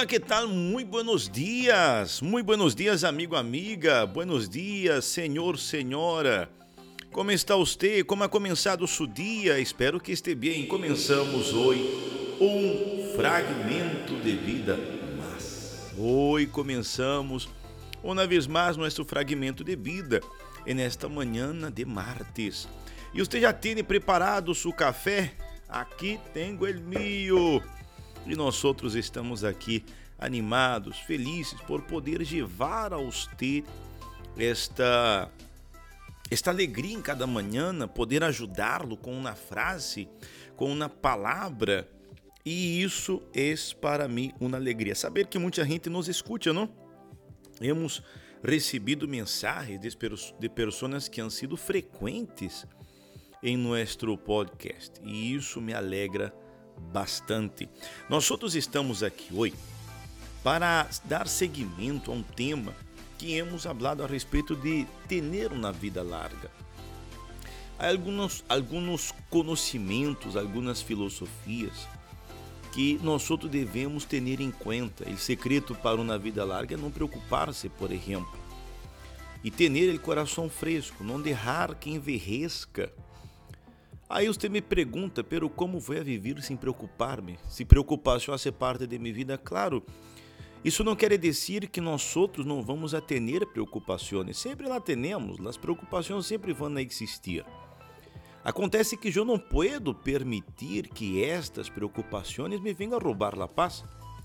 que tal? Muy buenos dias, amigo, amiga. Buenos dias, senhor, senhora. Como está você? Como ha começado o seu dia? Espero que esteja bem. Começamos hoje fragmento de vida mais. Hoje começamos uma vez mais nosso fragmento de vida nesta manhã de martes. E você já tem preparado seu café? Aqui tenho el mío. E nós outros estamos aqui animados, felizes por poder levar a você esta alegria em cada manhã, poder ajudá-lo com uma frase, com uma palavra. E isso é para mim uma alegria. Saber que muita gente nos escuta, não? Hemos recebido mensagens de pessoas que han sido frequentes em nosso podcast. E isso me alegra bastante. Nós outros estamos aqui hoje para dar seguimento a um tema que hemos hablado a respeito de ter uma vida larga. Há alguns conhecimentos, algumas filosofias que nós outros devemos ter em conta. O secreto para uma vida larga é não preocupar-se, por exemplo, e ter o coração fresco, não deixar que envelheça. Aí você me pergunta, pero como vou viver sem preocupar-me? Se preocupação faz parte de minha vida, claro. Isso não quer dizer que nós outros não vamos a ter preocupações. Sempre lá temos, as preocupações sempre vão existir. Acontece que eu não puedo permitir que estas preocupações me venham a roubar a paz.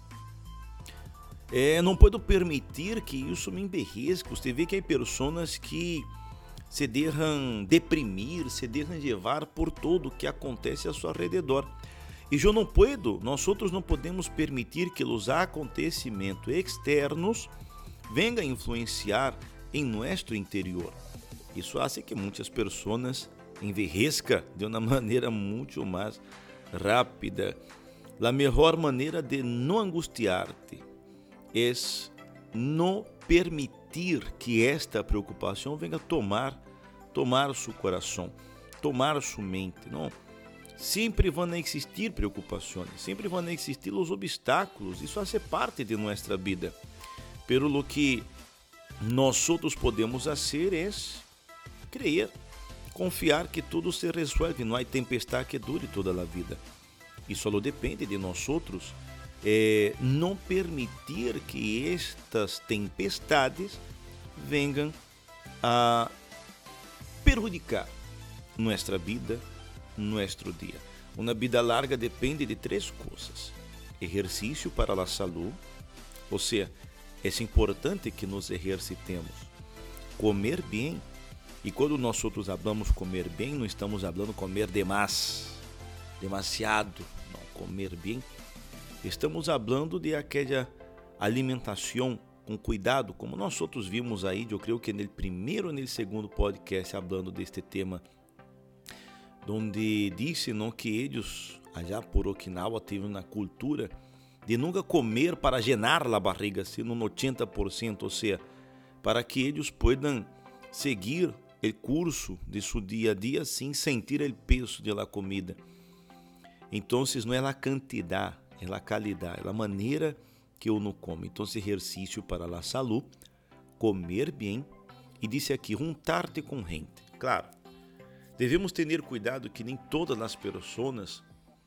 Não puedo permitir que isso me emberresca. Você vê que há pessoas que se deixam deprimir, se deixam levar por tudo que acontece a seu alrededor. E nós outros não podemos permitir que os acontecimentos externos venham a influenciar em nosso interior. Isso faz que muitas pessoas envelheçam de uma maneira muito mais rápida. A melhor maneira de não angustiar-te é não permitir que esta preocupação venha tomar seu coração, tomar sua mente, não? Sempre vão existir preocupações, sempre vão existir os obstáculos, isso faz parte de nossa vida. Pero lo que nós outros podemos fazer é crer, confiar que tudo se resolve, não há tempestade que dure toda a vida. E só depende de nós outros não permitir que estas tempestades venham a prejudicar nossa vida, nosso dia. Uma vida larga depende de três coisas: exercício para a saúde, ou seja, é importante que nos exercitemos, comer bem. E quando nós outros falamos comer bem, não estamos falando comer demasiado, não, comer bem. Estamos falando de aquela alimentação com cuidado, como nós outros vimos aí, eu creio que no primeiro e no segundo podcast falando deste tema, onde disse não, que eles, allá por Okinawa, teve uma cultura de nunca comer para llenar a barriga, sino no 80%, ou seja, para que eles possam seguir o curso de seu dia a dia sem sentir o peso da comida. Então, não é a quantidade, é a qualidade, é a maneira que uno come. Então, exercício para a saúde, comer bem e disse aqui, juntar-te com gente. Claro, devemos ter cuidado que nem todas as pessoas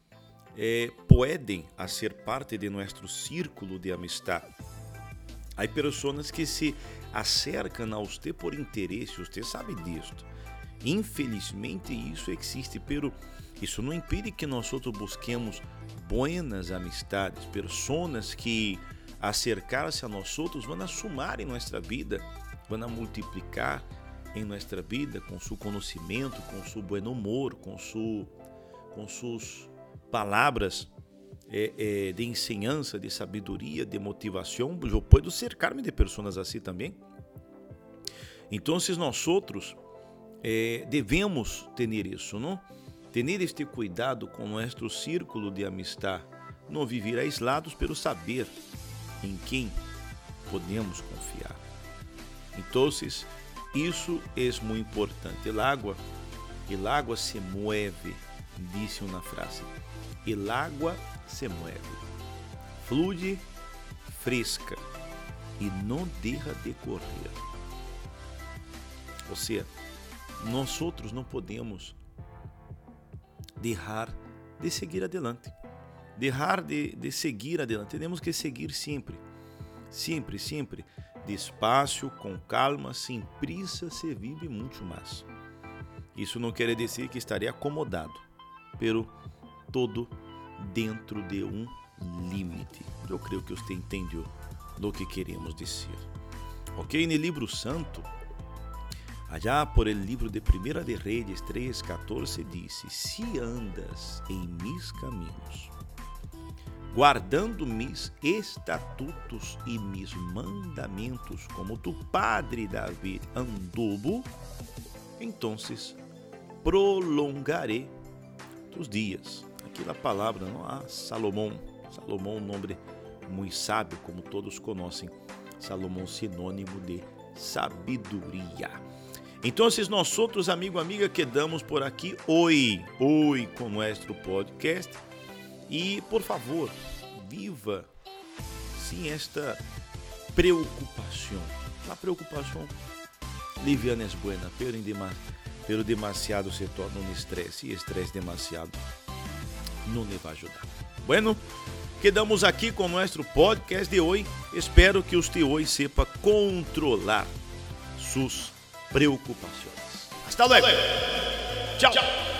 podem ser parte de nosso círculo de amistade. Há pessoas que se acercam a você por interesse, você sabe disto. Infelizmente isso existe, pero isso não impede que nós outros busquemos buenas amistades, pessoas que acercar-se a nós outros vão somar em nossa vida, vão multiplicar em nossa vida com seu conhecimento, com seu bom humor, com suas palavras de ensinança, de sabedoria, de motivação. Eu posso cercar-me de pessoas assim também. Então, nós outros devemos ter isso, não? Ter este cuidado com nosso círculo de amistade, não viver aislados, pelo saber em quem podemos confiar. Então, isso é muito importante. El agua se mueve, disse uma frase. El agua se mueve. Fluye, refresca e não deixa de correr. Ou seja, nós outros não podemos deixar de seguir adelante. Deixar de seguir adelante. Temos que seguir sempre. Sempre, sempre. Despacio, com calma, sem prisa, se vive muito mais. Isso não quer dizer que estarei acomodado, pero todo dentro de um limite. Eu creio que você entendeu do que queremos dizer. Ok? No livro santo, allá por el livro de 1 de Reis 3:14 disse: se andas em mis caminhos, guardando mis estatutos e mis mandamentos, como tu padre David anduvo, então prolongaré tus dias. Aqui a palavra, não há Salomão. Salomão, um nome muito sábio, como todos conhecem. Salomão, sinônimo de sabedoria. Então, nós outros, amigo, amiga, quedamos por aqui hoje com nosso podcast. E, por favor, viva sem esta preocupação. A preocupação liviana é boa, pero demasiado se torna um estresse, e estresse demasiado não lhe vai ajudar. Bueno, quedamos aqui com nosso podcast de hoje. Espero que você hoje sepa controlar suas preocupações. Hasta luego. Tchau.